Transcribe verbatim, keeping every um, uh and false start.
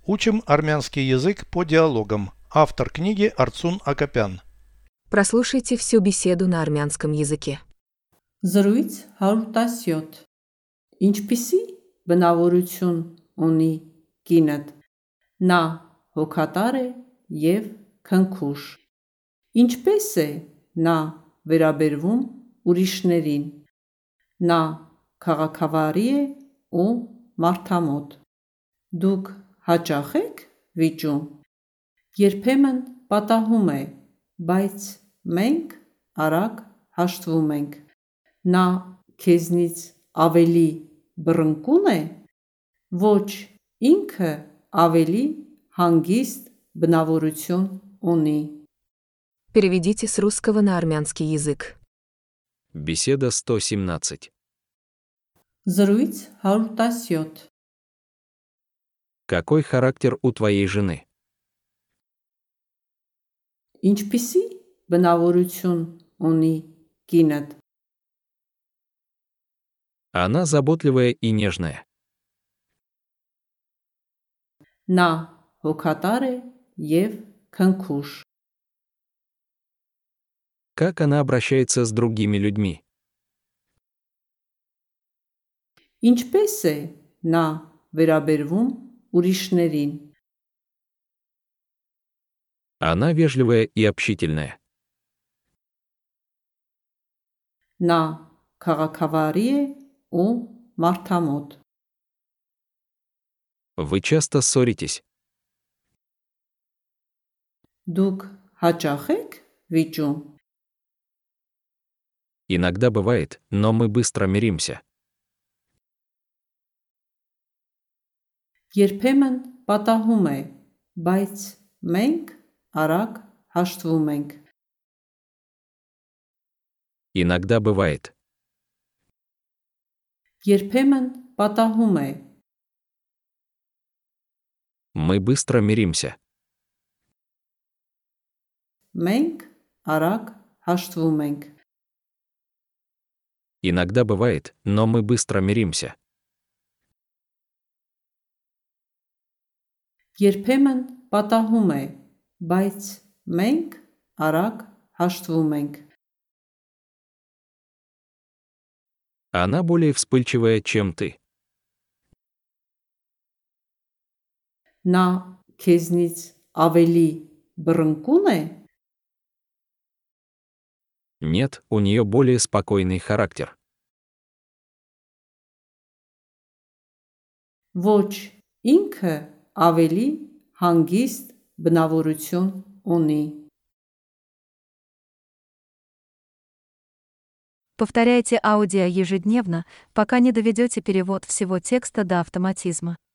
Учим армянский язык по диалогам. Автор книги Арцун Акопян. Прослушайте всю беседу на армянском языке. Զրույց հարյուր տասնյոթ Ինչպիսի բնավորություն ունի կինդ, նա հոգատար է և քնքուշ, ինչպես է նա վերաբերվում ուրիշներին, նա քաղաքավարի է ու մարդամոտ, դուք հաճախ եք վիճում, երբեմն պատահում է, բայց մենք արագ հաշտվում ենք, նա քեզնից ավելի բռնկուն է, ոչ, ինքը ավելի հանգիստ բնավորություն ունի։ Переведите с русского на армянский язык. Беседа сто семнадцать. Զրույց հարյուր տասնյոթ Какой характер у твоей жены? Ինչպիսի բնավորություն ունի կինդ, Она заботливая и нежная. նա հոգատար է և քնքուշ, Как она обращается с другими людьми? ինչպես է նա վերաբերվում ուրիշներին, Она вежливая и общительная. նա քաղաքավարի է ու մարդամոտ, Вы часто ссоритесь? դուք հաճախ եք վիճում, Иногда бывает, но мы быстро миримся. երբեմն պատահում է, բայց մենք արագ հաշտվում ենք, Иногда бывает. երբեմն պատահում է, Мы быстро миримся. մենք արագ հաշտվում ենք, Иногда бывает, но мы быстро миримся. երբեմն պատահում է, բայց մենք արագ հաշտվում ենք, Она более вспыльчивая, чем ты. նա քեզնից ավելի բռնկուն է, Нет, у нее более спокойный характер. ոչ, ինքը ավելի հանգիստ բնավորություն ունի։ Повторяйте аудио ежедневно, пока не доведете перевод всего текста до автоматизма.